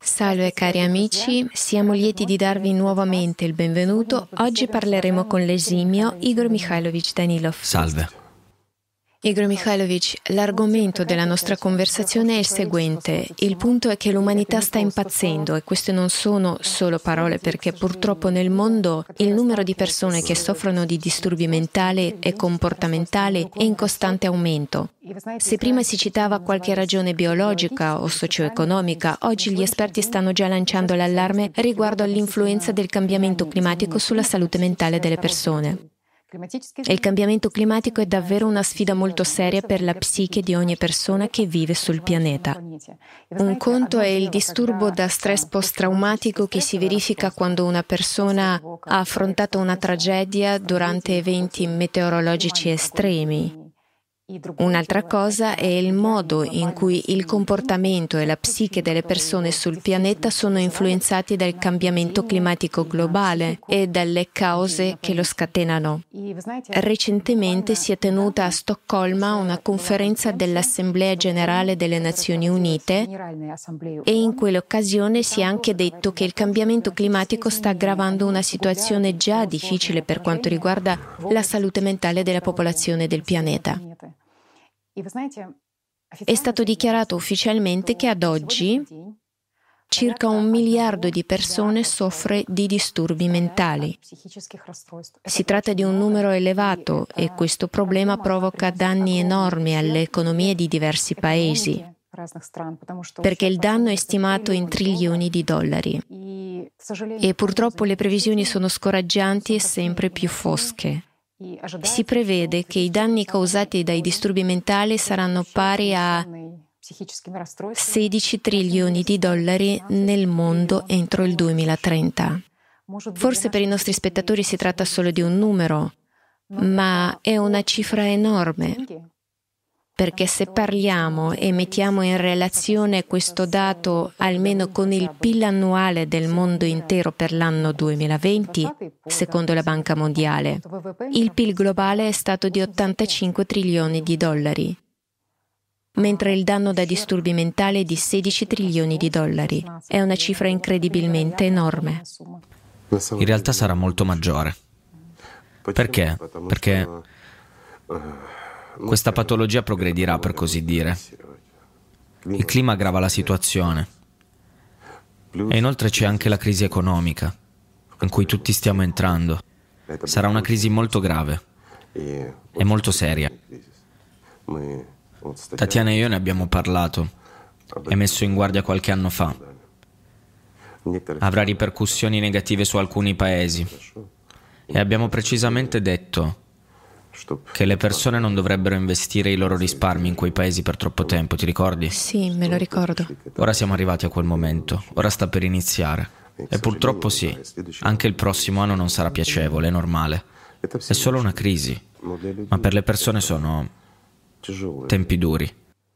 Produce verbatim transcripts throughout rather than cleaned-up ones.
Salve cari amici, siamo lieti di darvi nuovamente il benvenuto. Oggi parleremo con l'esimio Igor Mikhailovich Danilov. Salve. Igor Mikhailovich, l'argomento della nostra conversazione è il seguente. Il punto è che l'umanità sta impazzendo e queste non sono solo parole perché purtroppo nel mondo il numero di persone che soffrono di disturbi mentali e comportamentali è in costante aumento. Se prima si citava qualche ragione biologica o socio-economica, oggi gli esperti stanno già lanciando l'allarme riguardo all'influenza del cambiamento climatico sulla salute mentale delle persone. E il cambiamento climatico è davvero una sfida molto seria per la psiche di ogni persona che vive sul pianeta. Un conto è il disturbo da stress post-traumatico che si verifica quando una persona ha affrontato una tragedia durante eventi meteorologici estremi. Un'altra cosa è il modo in cui il comportamento e la psiche delle persone sul pianeta sono influenzati dal cambiamento climatico globale e dalle cause che lo scatenano. Recentemente si è tenuta a Stoccolma una conferenza dell'Assemblea Generale delle Nazioni Unite e in quell'occasione si è anche detto che il cambiamento climatico sta aggravando una situazione già difficile per quanto riguarda la salute mentale della popolazione del pianeta. È stato dichiarato ufficialmente che ad oggi circa un miliardo di persone soffre di disturbi mentali. Si tratta di un numero elevato e questo problema provoca danni enormi alle economie di diversi paesi, perché il danno è stimato in trilioni di dollari. E purtroppo le previsioni sono scoraggianti e sempre più fosche. Si prevede che i danni causati dai disturbi mentali saranno pari a sedici trilioni di dollari nel mondo entro il duemilatrenta. Forse per i nostri spettatori si tratta solo di un numero, ma è una cifra enorme. Perché se parliamo e mettiamo in relazione questo dato almeno con il P I L annuale del mondo intero per l'anno duemilaventi, secondo la Banca Mondiale, il P I L globale è stato di ottantacinque trilioni di dollari, mentre il danno da disturbi mentali è di sedici trilioni di dollari. È una cifra incredibilmente enorme. In realtà sarà molto maggiore. Perché? Perché questa patologia progredirà, per così dire. Il clima aggrava la situazione. E inoltre c'è anche la crisi economica, in cui tutti stiamo entrando. Sarà una crisi molto grave e molto seria. Tatiana e io ne abbiamo parlato e messo in guardia qualche anno fa. Avrà ripercussioni negative su alcuni paesi. E abbiamo precisamente detto che le persone non dovrebbero investire i loro risparmi in quei paesi per troppo tempo, ti ricordi? Sì, me lo ricordo. Ora siamo arrivati a quel momento, ora sta per iniziare. E purtroppo sì, anche il prossimo anno non sarà piacevole, è normale. È solo una crisi, ma per le persone sono tempi duri.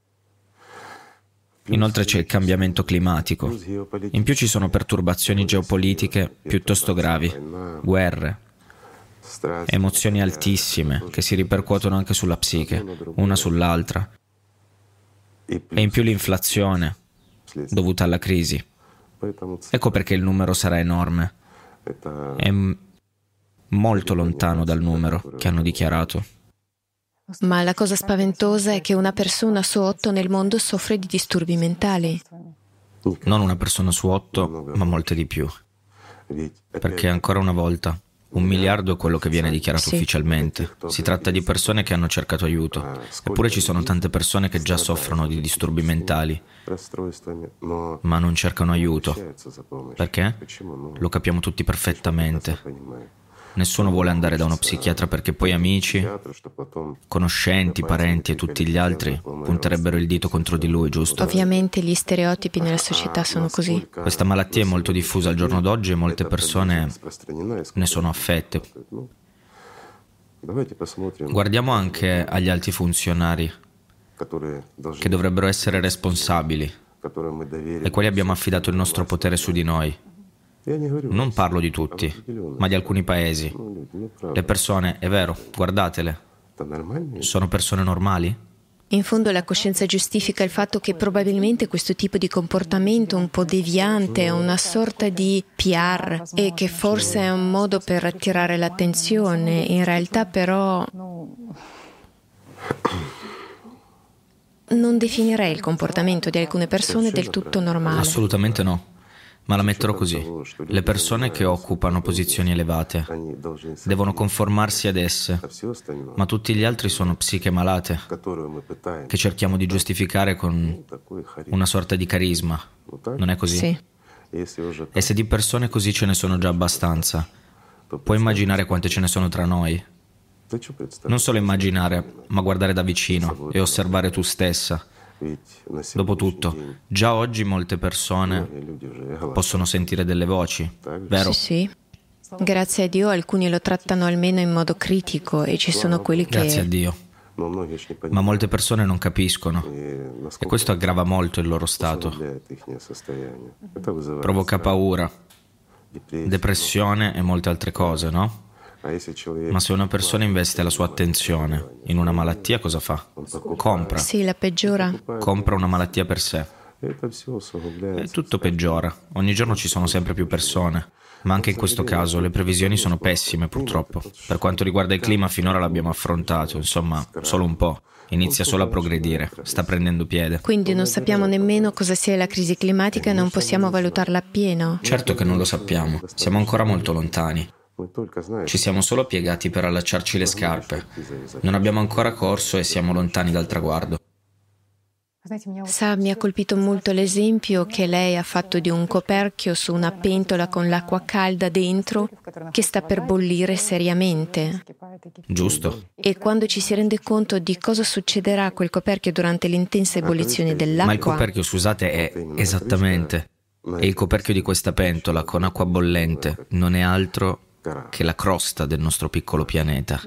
Inoltre c'è il cambiamento climatico. In più ci sono perturbazioni geopolitiche piuttosto gravi, guerre, emozioni altissime che si ripercuotono anche sulla psiche, una sull'altra. E in più l'inflazione dovuta alla crisi. Ecco perché il numero sarà enorme. È m- molto lontano dal numero che hanno dichiarato. Ma la cosa spaventosa è che una persona su otto nel mondo soffre di disturbi mentali. Non una persona su otto, ma molte di più. Perché ancora una volta un miliardo è quello che viene dichiarato Sì. ufficialmente. Si tratta di persone che hanno cercato aiuto. Eppure ci sono tante persone che già soffrono di disturbi mentali, ma non cercano aiuto. Perché? Lo capiamo tutti perfettamente. Nessuno vuole andare da uno psichiatra perché poi amici, conoscenti, parenti e tutti gli altri punterebbero il dito contro di lui, giusto? Ovviamente gli stereotipi nella società sono così. Questa malattia è molto diffusa al giorno d'oggi e molte persone ne sono affette. Guardiamo anche agli alti funzionari che dovrebbero essere responsabili, ai quali abbiamo affidato il nostro potere su di noi. Non parlo di tutti, ma di alcuni paesi. Le persone, è vero, guardatele, sono persone normali? In fondo la coscienza giustifica il fatto che probabilmente questo tipo di comportamento un po' deviante è una sorta di P R e che forse è un modo per attirare l'attenzione. In realtà però non definirei il comportamento di alcune persone del tutto normale. Assolutamente no. Ma la metterò così. Le persone che occupano posizioni elevate devono conformarsi ad esse, ma tutti gli altri sono psiche malate che cerchiamo di giustificare con una sorta di carisma. Non è così? Sì. E se di persone così ce ne sono già abbastanza, puoi immaginare quante ce ne sono tra noi? Non solo immaginare, ma guardare da vicino e osservare tu stessa. Dopotutto, già oggi molte persone possono sentire delle voci, vero? Sì, sì. Grazie a Dio alcuni lo trattano almeno in modo critico e ci sono quelli che... Grazie a Dio. Ma molte persone non capiscono e questo aggrava molto il loro stato. Provoca paura, depressione e molte altre cose, no? Ma se una persona investe la sua attenzione in una malattia, cosa fa? Compra. Sì, la peggiora. Compra una malattia per sé. E tutto peggiora. Ogni giorno ci sono sempre più persone. Ma anche in questo caso le previsioni sono pessime, purtroppo. Per quanto riguarda il clima, finora l'abbiamo affrontato, insomma, solo un po'. Inizia solo a progredire, sta prendendo piede. Quindi non sappiamo nemmeno cosa sia la crisi climatica e non possiamo valutarla appieno. Certo che non lo sappiamo. Siamo ancora molto lontani. Ci siamo solo piegati per allacciarci le scarpe. Non abbiamo ancora corso e siamo lontani dal traguardo. Sa, mi ha colpito molto l'esempio che lei ha fatto di un coperchio su una pentola con l'acqua calda dentro che sta per bollire seriamente. Giusto. E quando ci si rende conto di cosa succederà a quel coperchio durante l'intensa ebollizione dell'acqua... Ma il coperchio, scusate, è esattamente... E il coperchio di questa pentola con acqua bollente non è altro che la crosta del nostro piccolo pianeta.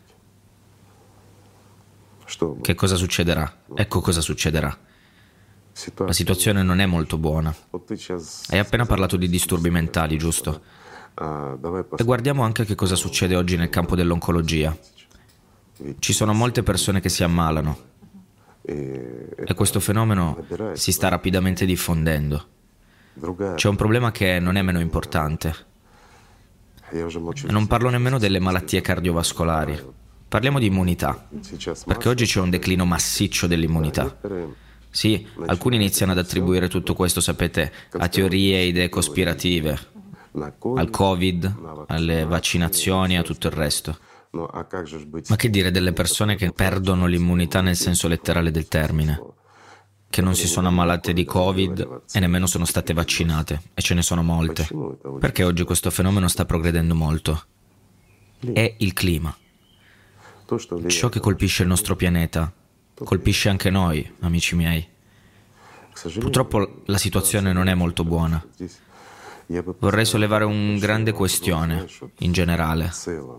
Che cosa succederà? Ecco cosa succederà. La situazione non è molto buona. Hai appena parlato di disturbi mentali, giusto? E guardiamo anche che cosa succede oggi nel campo dell'oncologia. Ci sono molte persone che si ammalano e questo fenomeno si sta rapidamente diffondendo. C'è un problema che non è meno importante. E non parlo nemmeno delle malattie cardiovascolari. Parliamo di immunità, perché oggi c'è un declino massiccio dell'immunità. Sì, alcuni iniziano ad attribuire tutto questo, sapete, a teorie e idee cospirative, al Covid, alle vaccinazioni e a tutto il resto. Ma che dire delle persone che perdono l'immunità nel senso letterale del termine? Che non si sono ammalate di Covid e nemmeno sono state vaccinate, e ce ne sono molte. Perché oggi questo fenomeno sta progredendo molto? È il clima. Ciò che colpisce il nostro pianeta colpisce anche noi, amici miei. Purtroppo la situazione non è molto buona. Vorrei sollevare una grande questione in generale.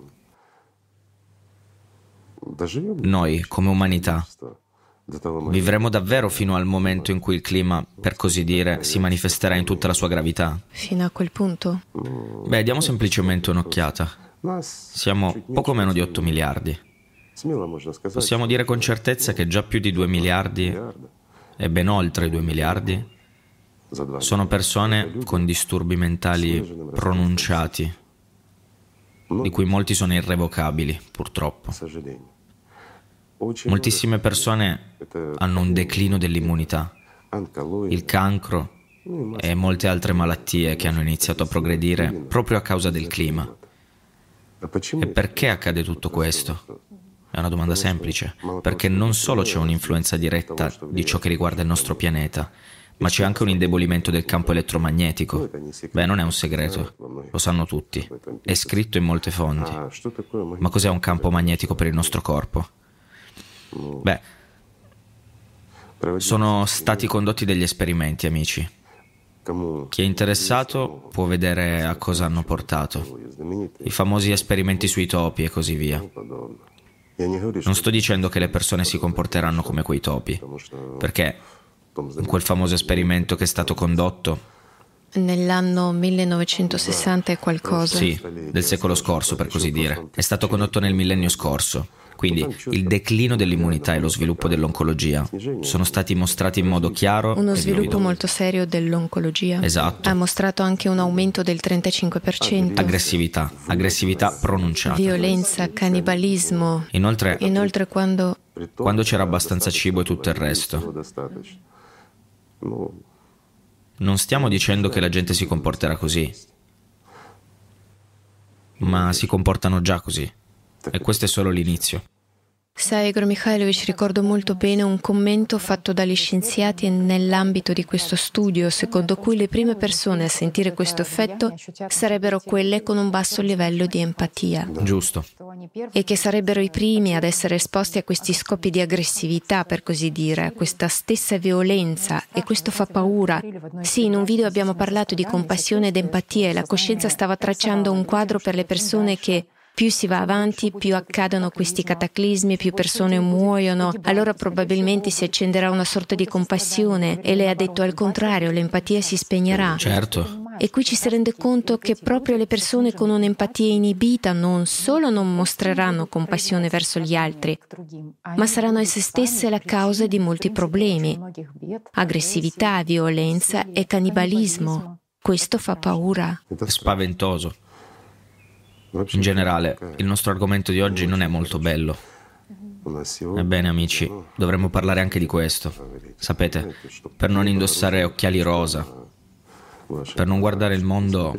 Noi, come umanità, vivremo davvero fino al momento in cui il clima, per così dire, si manifesterà in tutta la sua gravità? Fino a quel punto? Beh, diamo semplicemente un'occhiata. Siamo poco meno di otto miliardi. Possiamo dire con certezza che già più di due miliardi, e ben oltre i due miliardi, sono persone con disturbi mentali pronunciati, di cui molti sono irrevocabili, purtroppo. Moltissime persone hanno un declino dell'immunità, il cancro e molte altre malattie che hanno iniziato a progredire proprio a causa del clima. E perché accade tutto questo? È una domanda semplice, perché non solo c'è un'influenza diretta di ciò che riguarda il nostro pianeta, ma c'è anche un indebolimento del campo elettromagnetico. Beh, non è un segreto, lo sanno tutti, è scritto in molte fonti. Ma cos'è un campo magnetico per il nostro corpo? Beh, sono stati condotti degli esperimenti, amici. Chi è interessato può vedere a cosa hanno portato. I famosi esperimenti sui topi e così via. Non sto dicendo che le persone si comporteranno come quei topi, perché in quel famoso esperimento che è stato condotto nell'anno millenovecentosessanta e qualcosa. Sì, del secolo scorso, per così dire. È stato condotto nel millennio scorso. Quindi il declino dell'immunità e lo sviluppo dell'oncologia sono stati mostrati in modo chiaro. Uno e sviluppo vivido. molto serio dell'oncologia. Esatto. Ha mostrato anche un aumento del trentacinque per cento. Aggressività, aggressività pronunciata. Violenza, cannibalismo. Inoltre, Inoltre quando... quando c'era abbastanza cibo e tutto il resto. Non stiamo dicendo che la gente si comporterà così, ma si comportano già così. E questo è solo l'inizio. Sai, Igor Mikhailovich, ricordo molto bene un commento fatto dagli scienziati nell'ambito di questo studio, secondo cui le prime persone a sentire questo effetto sarebbero quelle con un basso livello di empatia. Giusto. E che sarebbero i primi ad essere esposti a questi scopi di aggressività, per così dire, a questa stessa violenza, e questo fa paura. Sì, in un video abbiamo parlato di compassione ed empatia e la coscienza stava tracciando un quadro per le persone che più si va avanti, più accadono questi cataclismi, più persone muoiono, allora probabilmente si accenderà una sorta di compassione, e lei ha detto al contrario, l'empatia si spegnerà. Certo. E qui ci si rende conto che proprio le persone con un'empatia inibita non solo non mostreranno compassione verso gli altri, ma saranno esse stesse la causa di molti problemi: aggressività, violenza e cannibalismo. Questo fa paura. È spaventoso. In generale, il nostro argomento di oggi non è molto bello. Ebbene, amici, dovremmo parlare anche di questo. Sapete, per non indossare occhiali rosa, per non guardare il mondo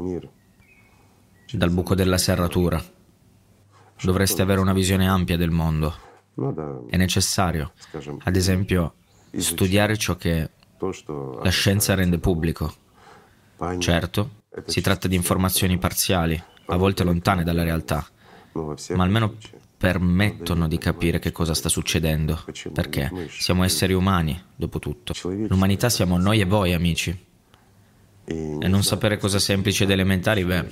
dal buco della serratura. Dovreste avere una visione ampia del mondo. È necessario, ad esempio, studiare ciò che la scienza rende pubblico. Certo, si tratta di informazioni parziali, a volte lontane dalla realtà, ma almeno permettono di capire che cosa sta succedendo, perché siamo esseri umani, dopo tutto. L'umanità siamo noi e voi, amici. E non sapere cose semplici ed elementari, beh,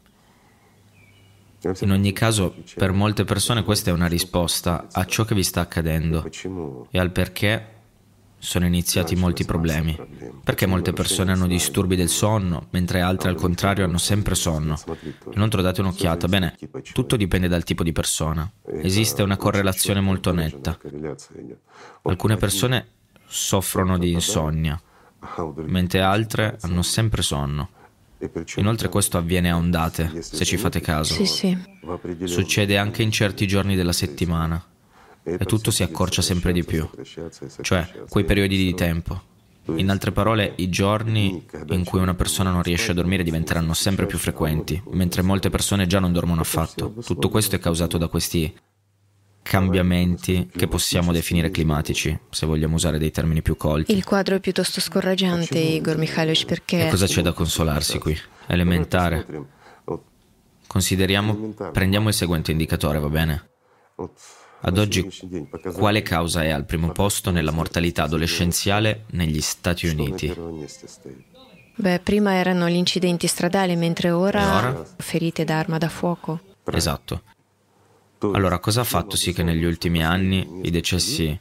in ogni caso, per molte persone questa è una risposta a ciò che vi sta accadendo e al perché sono iniziati molti problemi. Perché molte persone hanno disturbi del sonno, mentre altre al contrario hanno sempre sonno. Inoltre date un'occhiata. Bene, tutto dipende dal tipo di persona. Esiste una correlazione molto netta. Alcune persone soffrono di insonnia, mentre altre hanno sempre sonno. Inoltre questo avviene a ondate, se ci fate caso. Sì, sì. Succede anche in certi giorni della settimana. E tutto si accorcia sempre di più, cioè quei periodi di tempo. In altre parole, i giorni in cui una persona non riesce a dormire diventeranno sempre più frequenti, mentre molte persone già non dormono affatto. Tutto questo è causato da questi cambiamenti che possiamo definire climatici, se vogliamo usare dei termini più colti. Il quadro è piuttosto scoraggiante, Igor Mikhailovich, perché... E cosa c'è da consolarsi qui? Elementare. Consideriamo, prendiamo il seguente indicatore, va bene? Ad oggi, quale causa è al primo posto nella mortalità adolescenziale negli Stati Uniti? Beh, prima erano gli incidenti stradali, mentre ora, E ora? ferite da arma da fuoco. Esatto. Allora, cosa ha fatto sì che negli ultimi anni i decessi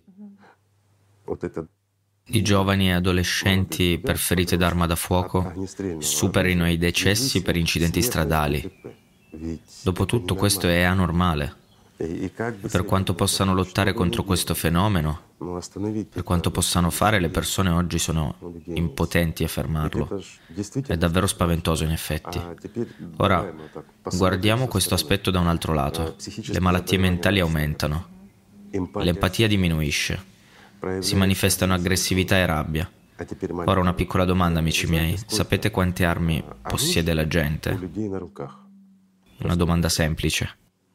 di giovani e adolescenti per ferite d'arma da fuoco superino i decessi per incidenti stradali? Dopotutto questo è anormale. Per quanto possano lottare contro questo fenomeno, per quanto possano fare, le persone oggi sono impotenti a fermarlo. È davvero spaventoso, in effetti. Ora, guardiamo questo aspetto da un altro lato. Le malattie mentali aumentano, l'empatia diminuisce, si manifestano aggressività e rabbia. Ora una piccola domanda, amici miei. Sapete quante armi possiede la gente? Una domanda semplice.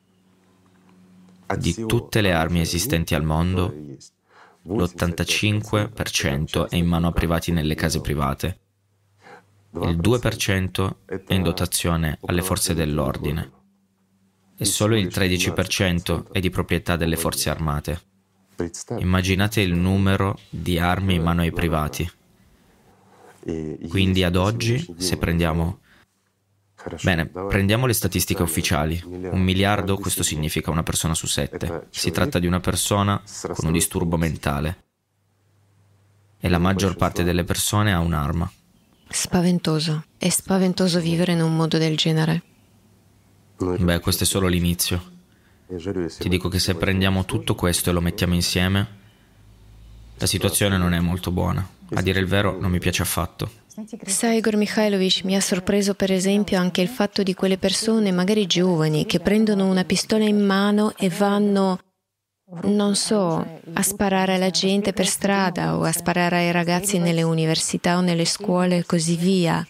Di tutte le armi esistenti al mondo, l'ottantacinque per cento è in mano a privati nelle case private, il due per cento è in dotazione alle forze dell'ordine e solo il tredici per cento è di proprietà delle forze armate. Immaginate il numero di armi in mano ai privati. Quindi ad oggi, se prendiamo... Bene, prendiamo le statistiche ufficiali. Un miliardo, questo significa una persona su sette. Si tratta di una persona con un disturbo mentale. E la maggior parte delle persone ha un'arma. Spaventoso. È spaventoso vivere in un mondo del genere. Beh, questo è solo l'inizio. Ti dico che se prendiamo tutto questo e lo mettiamo insieme, la situazione non è molto buona. A dire il vero, non mi piace affatto. Sai, Igor Mikhailovich, mi ha sorpreso per esempio anche il fatto di quelle persone, magari giovani, che prendono una pistola in mano e vanno, non so, a sparare alla gente per strada o a sparare ai ragazzi nelle università o nelle scuole e così via.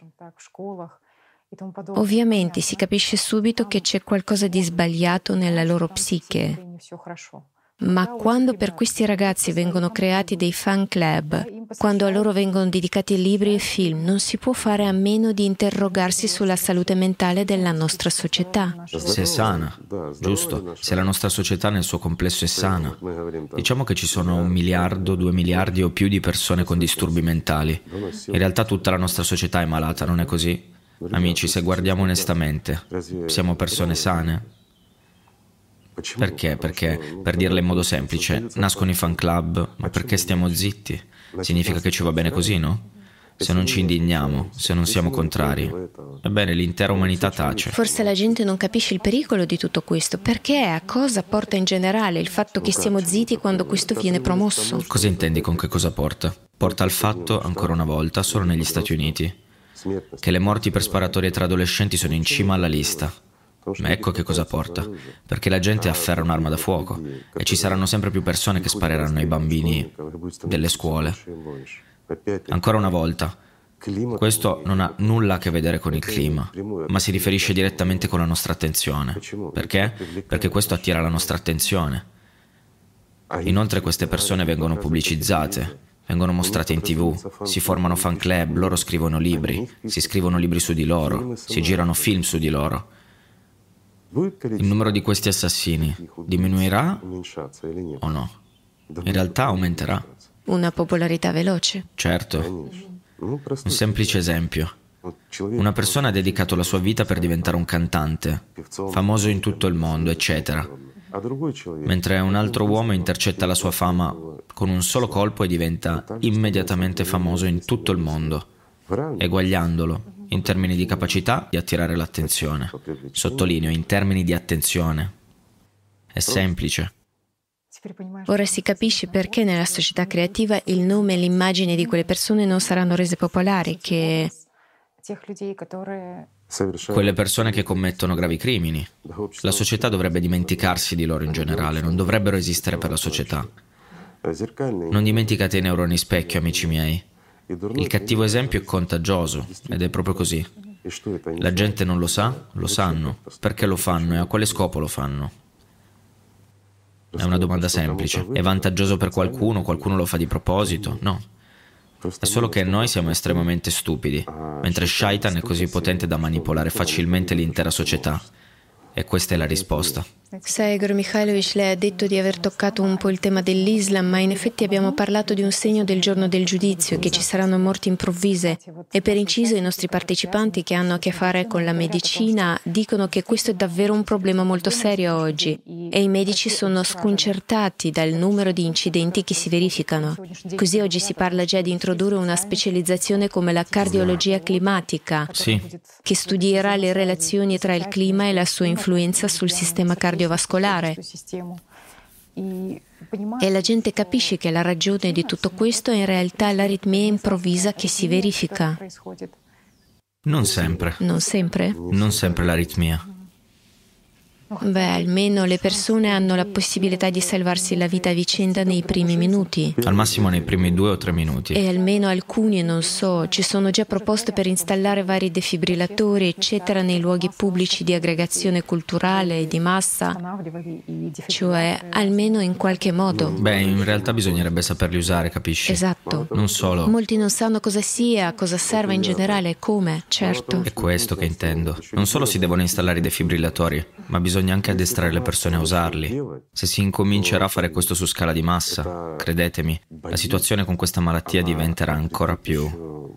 Ovviamente si capisce subito che c'è qualcosa di sbagliato nella loro psiche. Ma quando per questi ragazzi vengono creati dei fan club, quando a loro vengono dedicati libri e film, non si può fare a meno di interrogarsi sulla salute mentale della nostra società. Se è sana, giusto? Se la nostra società nel suo complesso è sana. Diciamo che ci sono un miliardo, due miliardi o più di persone con disturbi mentali. In realtà tutta la nostra società è malata, non è così? Amici, se guardiamo onestamente, siamo persone sane? Perché? Perché, per dirla in modo semplice, nascono i fan club, ma perché stiamo zitti? Significa che ci va bene così, no? Se non ci indigniamo, se non siamo contrari, ebbene l'intera umanità tace. Forse la gente non capisce il pericolo di tutto questo. Perché? A cosa porta in generale il fatto che stiamo zitti quando questo viene promosso? Cosa intendi con che cosa porta? Porta al fatto, ancora una volta, solo negli Stati Uniti, che le morti per sparatorie tra adolescenti sono in cima alla lista. Ma ecco che cosa porta, perché la gente afferra un'arma da fuoco e ci saranno sempre più persone che spareranno ai bambini delle scuole. Ancora una volta, questo non ha nulla a che vedere con il clima, ma si riferisce direttamente con la nostra attenzione. Perché? Perché questo attira la nostra attenzione. Inoltre queste persone vengono pubblicizzate, vengono mostrate in tv, si formano fan club, loro scrivono libri, si scrivono libri su di loro, si girano film su di loro. Il numero di questi assassini diminuirà o no? In realtà aumenterà. Una popolarità veloce. Certo. Un semplice esempio. Una persona ha dedicato la sua vita per diventare un cantante, famoso in tutto il mondo, eccetera. Mentre un altro uomo intercetta la sua fama con un solo colpo e diventa immediatamente famoso in tutto il mondo, eguagliandolo in termini di capacità di attirare l'attenzione. Sottolineo, in termini di attenzione. È semplice. Ora si capisce perché nella società creativa il nome e l'immagine di quelle persone non saranno rese popolari, che quelle persone che commettono gravi crimini. La società dovrebbe dimenticarsi di loro in generale, non dovrebbero esistere per la società. Non dimenticate i neuroni specchio, amici miei. Il cattivo esempio è contagioso, ed è proprio così. La gente non lo sa, lo sanno. Perché lo fanno e a quale scopo lo fanno? È una domanda semplice. È vantaggioso per qualcuno? Qualcuno lo fa di proposito? No. È solo che noi siamo estremamente stupidi, mentre Shaitan è così potente da manipolare facilmente l'intera società. E questa è la risposta. Sai, Igor Mikhailovich, lei ha detto di aver toccato un po' il tema dell'Islam, ma in effetti abbiamo parlato di un segno del giorno del giudizio, che ci saranno morti improvvise. E per inciso i nostri partecipanti che hanno a che fare con la medicina dicono che questo è davvero un problema molto serio oggi e i medici sono sconcertati dal numero di incidenti che si verificano. Così oggi si parla già di introdurre una specializzazione come la cardiologia climatica, sì, che studierà le relazioni tra il clima e la sua influenza sul sistema cardiovascolare. E la gente capisce che la ragione di tutto questo è in realtà l'aritmia improvvisa che si verifica. Non sempre. Non sempre? Non sempre l'aritmia. Beh, almeno le persone hanno la possibilità di salvarsi la vita a vicenda nei primi minuti. Al massimo nei primi due o tre minuti. E almeno alcuni, non so, ci sono già proposte per installare vari defibrillatori, eccetera, nei luoghi pubblici di aggregazione culturale e di massa. Cioè, almeno in qualche modo. Beh, in realtà bisognerebbe saperli usare, capisci? Esatto. Non solo. Molti non sanno cosa sia, cosa serva in generale e come, certo. È questo che intendo. Non solo si devono installare i defibrillatori, ma bisogna anche addestrare le persone a usarli. Se si incomincerà a fare questo su scala di massa, credetemi, la situazione con questa malattia diventerà ancora più...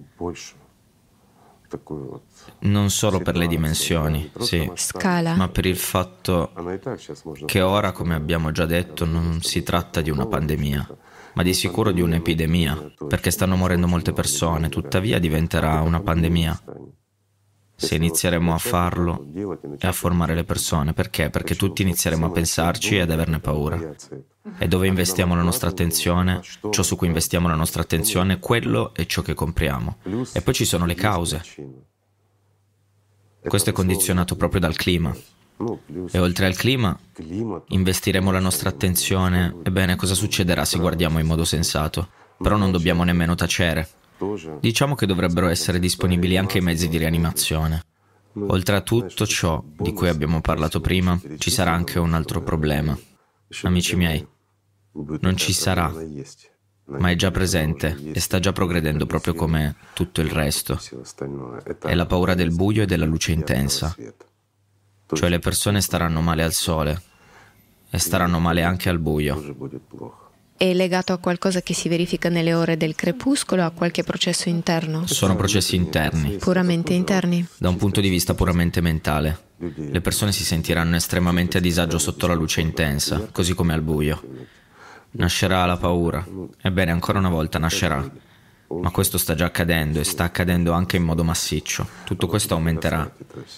non solo per le dimensioni, sì, scala, ma per il fatto che ora, come abbiamo già detto, non si tratta di una pandemia, ma di sicuro di un'epidemia, perché stanno morendo molte persone, tuttavia diventerà una pandemia. se inizieremo a farlo e a formare le persone. Perché? Perché tutti inizieremo a pensarci e ad averne paura. E dove investiamo la nostra attenzione, ciò su cui investiamo la nostra attenzione, quello è ciò che compriamo. E poi ci sono le cause. Questo è condizionato proprio dal clima. E oltre al clima, investiremo la nostra attenzione. Ebbene, cosa succederà se guardiamo in modo sensato? Però non dobbiamo nemmeno tacere. Diciamo che dovrebbero essere disponibili anche i mezzi di rianimazione. Oltre a tutto ciò di cui abbiamo parlato prima, ci sarà anche un altro problema. Amici miei, non ci sarà, ma è già presente e sta già progredendo proprio come tutto il resto. È la paura del buio e della luce intensa. Cioè le persone staranno male al sole e staranno male anche al buio. È legato a qualcosa che si verifica nelle ore del crepuscolo o a qualche processo interno? Sono processi interni. Puramente interni? Da un punto di vista puramente mentale. Le persone si sentiranno estremamente a disagio sotto la luce intensa, così come al buio. Nascerà la paura. Ebbene, ancora una volta nascerà. Ma questo sta già accadendo e sta accadendo anche in modo massiccio. Tutto questo aumenterà.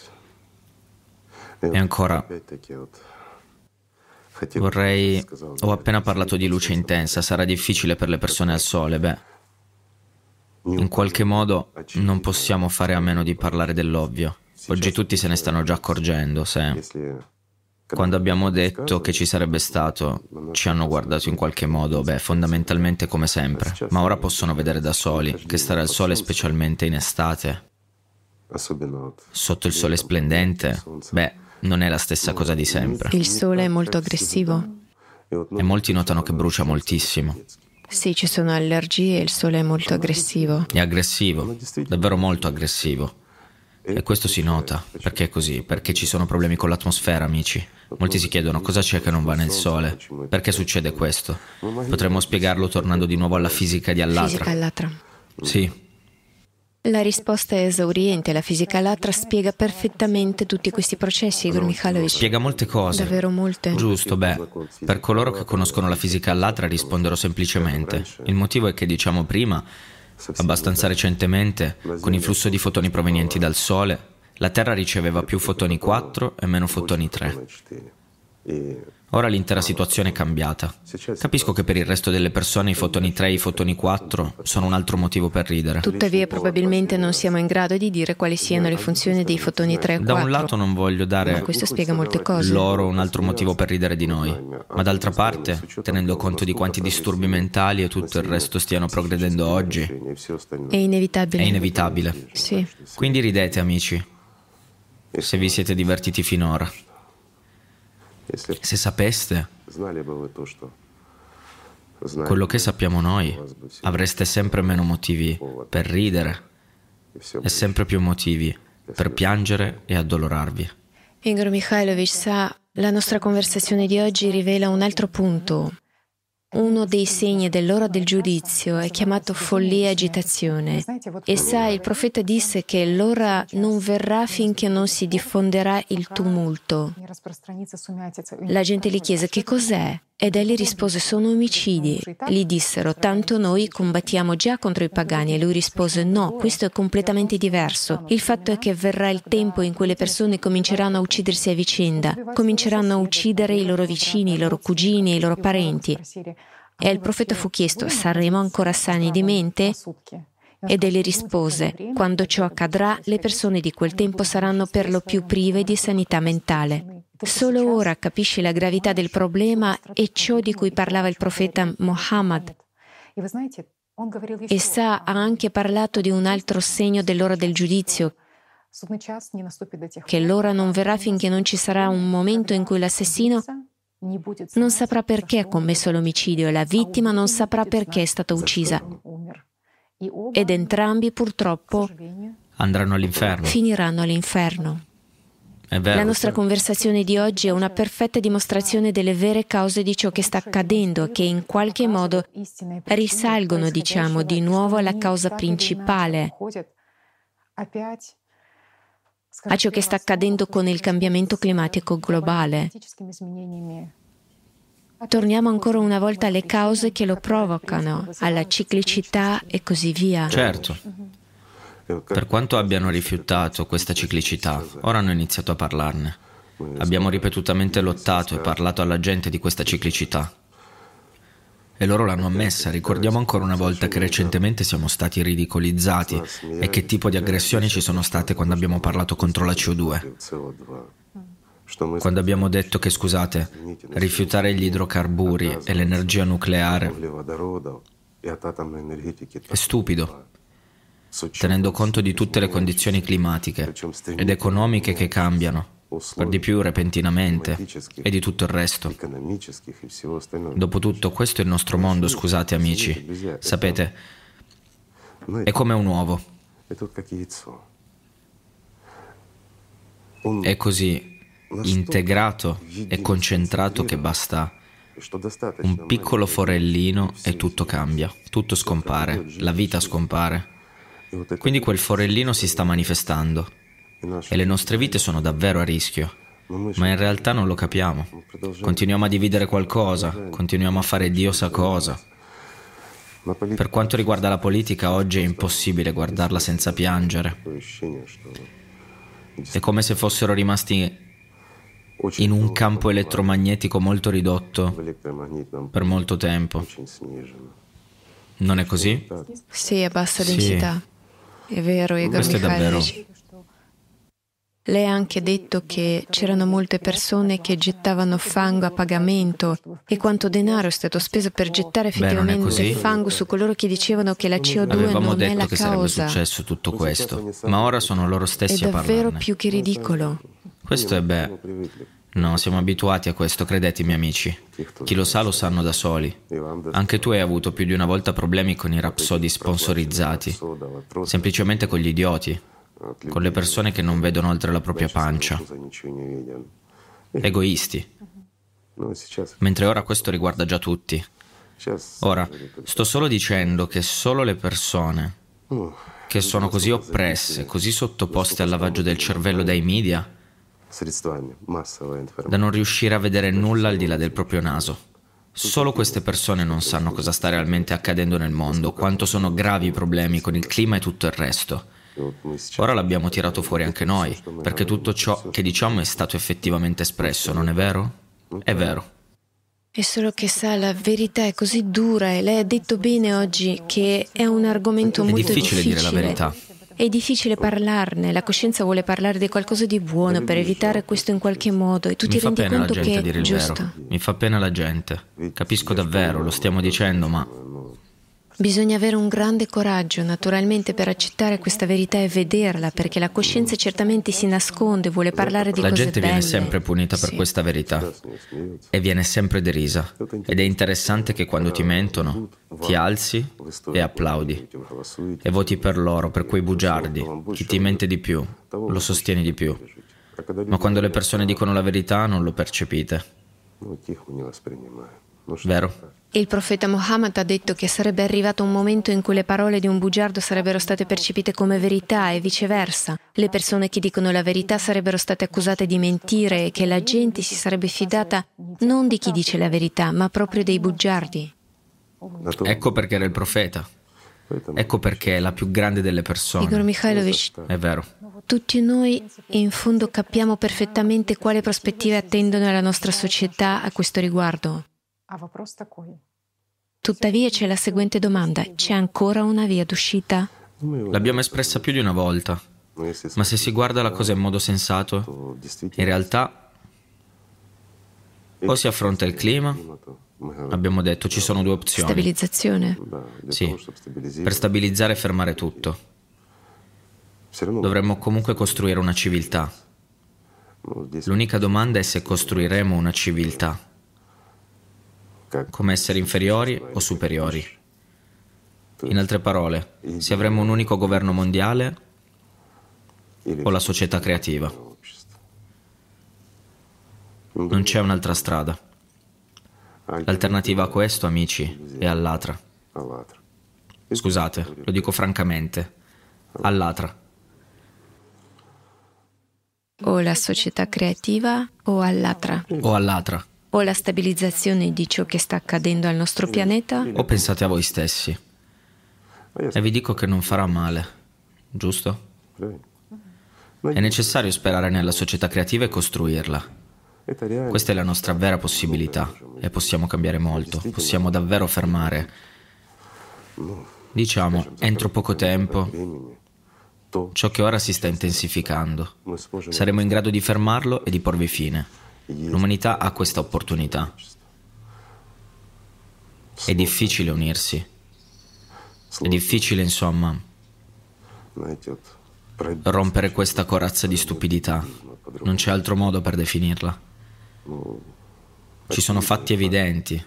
E ancora... Vorrei... Ho appena parlato di luce intensa, sarà difficile per le persone al sole, beh. In qualche modo non possiamo fare a meno di parlare dell'ovvio. Oggi tutti se ne stanno già accorgendo, se... Quando abbiamo detto che ci sarebbe stato, ci hanno guardato in qualche modo, beh, fondamentalmente come sempre. Ma ora possono vedere da soli che stare al sole, specialmente in estate, sotto il sole splendente, beh, non è la stessa cosa di sempre. Il sole è molto aggressivo? E molti notano che brucia moltissimo. Sì, ci sono allergie e il sole è molto aggressivo. È aggressivo, davvero molto aggressivo. E questo si nota. Perché è così? Perché ci sono problemi con l'atmosfera, amici. Molti si chiedono cosa c'è che non va nel sole. Perché succede questo? Potremmo spiegarlo tornando di nuovo alla fisica di Allatra. Fisica Allatra. Sì. La risposta è esauriente. La fisica Allatra spiega perfettamente tutti questi processi, Igor Mikhailovich. Spiega molte cose. Davvero molte. Giusto, beh, per coloro che conoscono la fisica Allatra risponderò semplicemente. Il motivo è che, diciamo prima, abbastanza recentemente, con il flusso di fotoni provenienti dal Sole, la Terra riceveva più fotoni quattro e meno fotoni tre. Ora l'intera situazione è cambiata. Capisco che per il resto delle persone i fotoni tre e i fotoni quattro sono un altro motivo per ridere. Tuttavia probabilmente non siamo in grado di dire quali siano le funzioni dei fotoni tre e quattro. Da un lato non voglio dare Ma questo spiega molte cose. loro un altro motivo per ridere di noi, ma d'altra parte, tenendo conto di quanti disturbi mentali e tutto il resto stiano progredendo oggi, È inevitabile. è inevitabile. Sì. Quindi ridete, amici, se vi siete divertiti finora. Se sapeste quello che sappiamo noi, avreste sempre meno motivi per ridere e sempre più motivi per piangere e addolorarvi. Igor Mikhailovich, sa, la nostra conversazione di oggi rivela un altro punto. Uno dei segni dell'ora del giudizio è chiamato follia e agitazione. E sa, il profeta disse che l'ora non verrà finché non si diffonderà il tumulto. La gente gli chiese che cos'è? Ed egli rispose: sono omicidi. Gli dissero: tanto noi combattiamo già contro i pagani. E lui rispose: no, questo è completamente diverso. Il fatto è che verrà il tempo in cui le persone cominceranno a uccidersi a vicenda, cominceranno a uccidere i loro vicini, i loro cugini e i loro parenti. E il profeta fu chiesto: saremo ancora sani di mente? Ed egli rispose: quando ciò accadrà, le persone di quel tempo saranno per lo più prive di sanità mentale. Solo ora capisci la gravità del problema e ciò di cui parlava il profeta Muhammad. E sa, ha anche parlato di un altro segno dell'ora del giudizio, che l'ora non verrà finché non ci sarà un momento in cui l'assassino non saprà perché ha commesso l'omicidio e la vittima non saprà perché è stata uccisa. Ed entrambi, purtroppo, Andranno all'inferno. finiranno all'inferno. È vero. La nostra conversazione di oggi è una perfetta dimostrazione delle vere cause di ciò che sta accadendo, che in qualche modo risalgono, diciamo, di nuovo alla causa principale, a ciò che sta accadendo con il cambiamento climatico globale. Torniamo ancora una volta alle cause che lo provocano, alla ciclicità e così via. Certo. Per quanto abbiano rifiutato questa ciclicità, ora hanno iniziato a parlarne. Abbiamo ripetutamente lottato e parlato alla gente di questa ciclicità. E loro l'hanno ammessa. Ricordiamo ancora una volta che recentemente siamo stati ridicolizzati e che tipo di aggressioni ci sono state quando abbiamo parlato contro la C O due. Quando abbiamo detto che, scusate, rifiutare gli idrocarburi e l'energia nucleare è stupido, tenendo conto di tutte le condizioni climatiche ed economiche che cambiano, per di più repentinamente, e di tutto il resto. Dopotutto, questo è il nostro mondo, scusate amici. Sapete, è come un uovo. È così integrato e concentrato che basta un piccolo forellino e tutto cambia, tutto scompare, la vita scompare. Quindi quel forellino si sta manifestando e le nostre vite sono davvero a rischio, ma in realtà non lo capiamo. Continuiamo a dividere qualcosa, continuiamo a fare Dio sa cosa. Per quanto riguarda la politica, oggi è impossibile guardarla senza piangere. È come se fossero rimasti in un campo elettromagnetico molto ridotto per molto tempo. Non è così? Sì, a bassa Sì. densità. È vero, Igor Questo è davvero. Mikhailovich. Lei ha anche detto che c'erano molte persone che gettavano fango a pagamento e quanto denaro è stato speso per gettare Beh, non è effettivamente così. fango su coloro che dicevano che la C O due Avevamo non è detto la che sarebbe causa. successo tutto questo, ma ora sono loro È stessi a davvero parlarne. più che ridicolo. Questo è beh. No, siamo abituati a questo, credetemi amici. Chi lo sa lo sanno da soli. Anche tu hai avuto più di una volta problemi con i rapsodi sponsorizzati, semplicemente con gli idioti, con le persone che non vedono oltre la propria pancia. Egoisti. Mentre ora questo riguarda già tutti. Ora, sto solo dicendo che solo le persone che sono così oppresse, così sottoposte al lavaggio del cervello dai media, da non riuscire a vedere nulla al di là del proprio naso. Solo queste persone non sanno cosa sta realmente accadendo nel mondo, quanto sono gravi i problemi con il clima e tutto il resto. Ora l'abbiamo tirato fuori anche noi, perché tutto ciò che diciamo è stato effettivamente espresso, non è vero? È vero. È solo che sa, la verità è così dura e lei ha detto bene oggi che è un argomento È molto difficile difficile. dire la verità. È difficile parlarne, la coscienza vuole parlare di qualcosa di buono per evitare questo in qualche modo e tu ti Mi fa rendi pena la conto gente che dire è il giusto. vero. Mi fa pena la gente. Capisco davvero, lo stiamo dicendo, ma Bisogna avere un grande coraggio, naturalmente, per accettare questa verità e vederla, perché la coscienza certamente si nasconde, vuole parlare di la cose gente belle. viene sempre punita per Sì. questa verità e viene sempre derisa. Ed è interessante che quando ti mentono, ti alzi e applaudi e voti per loro, per quei bugiardi. Chi ti mente di più, lo sostieni di più. Ma quando le persone dicono la verità non lo percepite. Vero? Il profeta Muhammad ha detto che sarebbe arrivato un momento in cui le parole di un bugiardo sarebbero state percepite come verità e viceversa. Le persone che dicono la verità sarebbero state accusate di mentire e che la gente si sarebbe fidata non di chi dice la verità, ma proprio dei bugiardi. Ecco perché era il profeta. Ecco perché è la più grande delle persone. Igor Mikhailovich, È vero. tutti noi in fondo capiamo perfettamente quali prospettive attendono la nostra società a questo riguardo. Tuttavia c'è la seguente domanda: c'è ancora una via d'uscita? L'abbiamo espressa più di una volta, ma se si guarda la cosa in modo sensato, in realtà o si affronta il clima, abbiamo detto ci sono due opzioni. Stabilizzazione? Sì, per stabilizzare e fermare tutto. Dovremmo comunque costruire una civiltà. L'unica domanda è se costruiremo una civiltà come esseri inferiori o superiori. In altre parole, se avremo un unico governo mondiale o la società creativa. Non c'è un'altra strada. L'alternativa a questo, amici, è all'altra. Scusate, lo dico francamente, all'altra. O la società creativa o all'altra? O all'altra. O la stabilizzazione di ciò che sta accadendo al nostro pianeta? O pensate a voi stessi. E vi dico che non farà male. giusto? È necessario sperare nella società creativa e costruirla. Questa è la nostra vera possibilità e possiamo cambiare molto, possiamo davvero fermare, diciamo, entro poco tempo, ciò che ora si sta intensificando. Saremo in grado di fermarlo e di porvi fine. L'umanità ha questa opportunità. È difficile unirsi. È difficile, insomma, rompere questa corazza di stupidità. Non c'è altro modo per definirla. Ci sono fatti evidenti.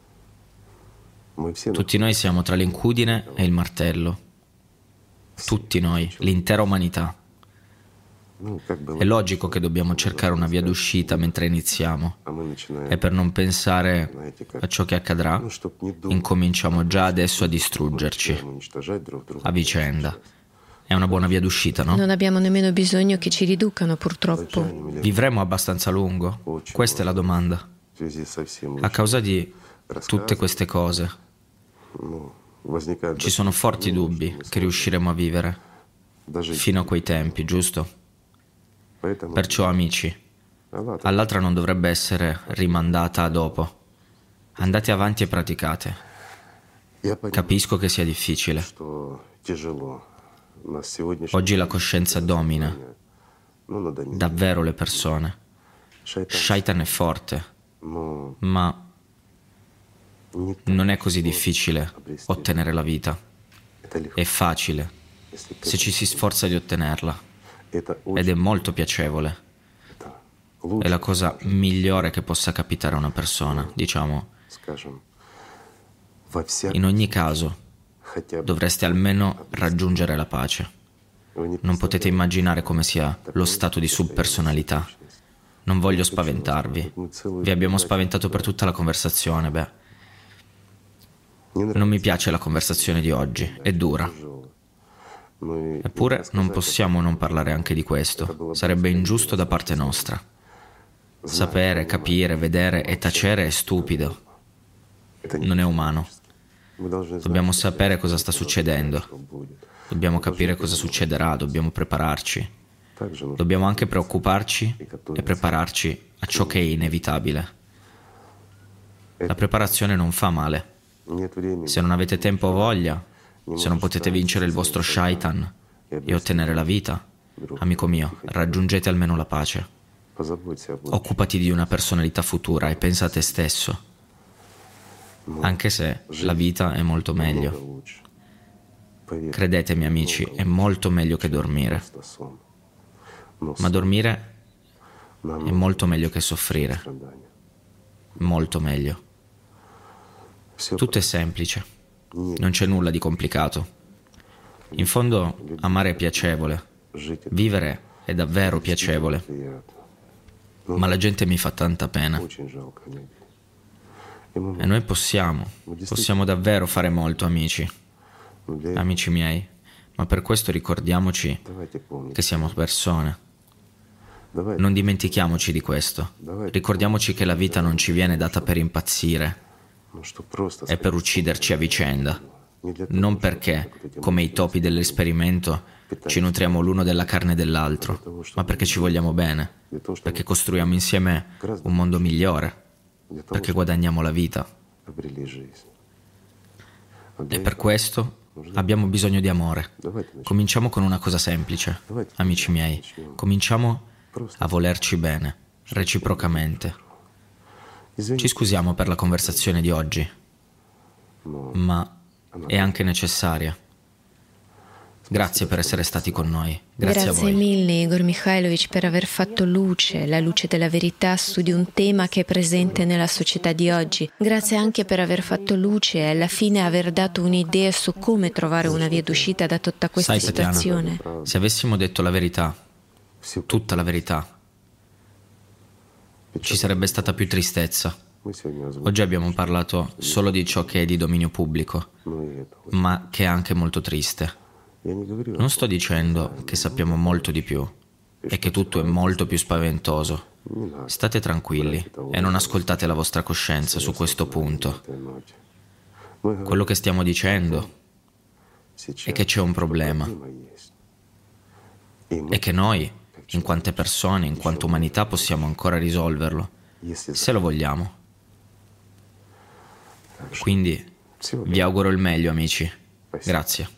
Tutti noi siamo tra l'incudine e il martello. Tutti noi, l'intera umanità. È logico che dobbiamo cercare una via d'uscita mentre iniziamo. E per non pensare a ciò che accadrà, incominciamo già adesso a distruggerci a vicenda. È una buona via d'uscita, no? Non abbiamo nemmeno bisogno che ci riducano, purtroppo. Vivremo abbastanza a lungo? Questa è la domanda. A causa di tutte queste cose, ci sono forti dubbi che riusciremo a vivere fino a quei tempi, giusto? Perciò, amici, all'altra non dovrebbe essere rimandata a dopo. Andate avanti e praticate. Capisco che sia difficile. Oggi la coscienza domina davvero le persone. Shaitan è forte, ma non è così difficile ottenere la vita. È facile se ci si sforza di ottenerla ed è molto piacevole. È la cosa migliore che possa capitare a una persona, diciamo. In ogni caso, dovreste almeno raggiungere la pace. Non potete immaginare come sia lo stato di subpersonalità. Non voglio spaventarvi. Vi abbiamo spaventato per tutta la conversazione, beh. Non mi piace la conversazione di oggi, è dura. Eppure non possiamo non parlare anche di questo. Sarebbe ingiusto da parte nostra. Sapere, capire, vedere e tacere è stupido. Non è umano. Dobbiamo sapere cosa sta succedendo. Dobbiamo capire cosa succederà, dobbiamo prepararci. Dobbiamo anche preoccuparci e prepararci a ciò che è inevitabile. La preparazione non fa male. Se non avete tempo o voglia, se non potete vincere il vostro shaitan e ottenere la vita, amico mio, raggiungete almeno la pace. Occupati di una personalità futura e pensa a te stesso. Anche se la vita è molto meglio. Credetemi, amici, è molto meglio che dormire. Ma dormire è molto meglio che soffrire. Molto meglio. Tutto è semplice. Non c'è nulla di complicato. In fondo, amare è piacevole. Vivere è davvero piacevole. Ma la gente mi fa tanta pena. E noi possiamo, possiamo davvero fare molto, amici, amici miei, ma per questo ricordiamoci che siamo persone. Non dimentichiamoci di questo. Ricordiamoci che la vita non ci viene data per impazzire e per ucciderci a vicenda. Non perché, come i topi dell'esperimento, ci nutriamo l'uno della carne dell'altro, ma perché ci vogliamo bene, perché costruiamo insieme un mondo migliore, perché guadagniamo la vita. E per questo abbiamo bisogno di amore. Cominciamo con una cosa semplice, amici miei. Cominciamo a volerci bene, reciprocamente. Ci scusiamo per la conversazione di oggi, ma è anche necessaria. Grazie per essere stati con noi. Grazie, Grazie a voi. mille Igor Mikhailovich per aver fatto luce, la luce della verità su di un tema che è presente nella società di oggi. Grazie anche per aver fatto luce e alla fine aver dato un'idea su come trovare una via d'uscita da tutta questa Sai, situazione. Tatiana, se avessimo detto la verità, tutta la verità, ci sarebbe stata più tristezza. Oggi abbiamo parlato solo di ciò che è di dominio pubblico, ma che è anche molto triste. Non sto dicendo che sappiamo molto di più e che tutto è molto più spaventoso. State tranquilli e non ascoltate la vostra coscienza su questo punto. Quello che stiamo dicendo è che c'è un problema e che noi, in quante persone, in quanta umanità, possiamo ancora risolverlo, se lo vogliamo. Quindi vi auguro il meglio, amici. Grazie.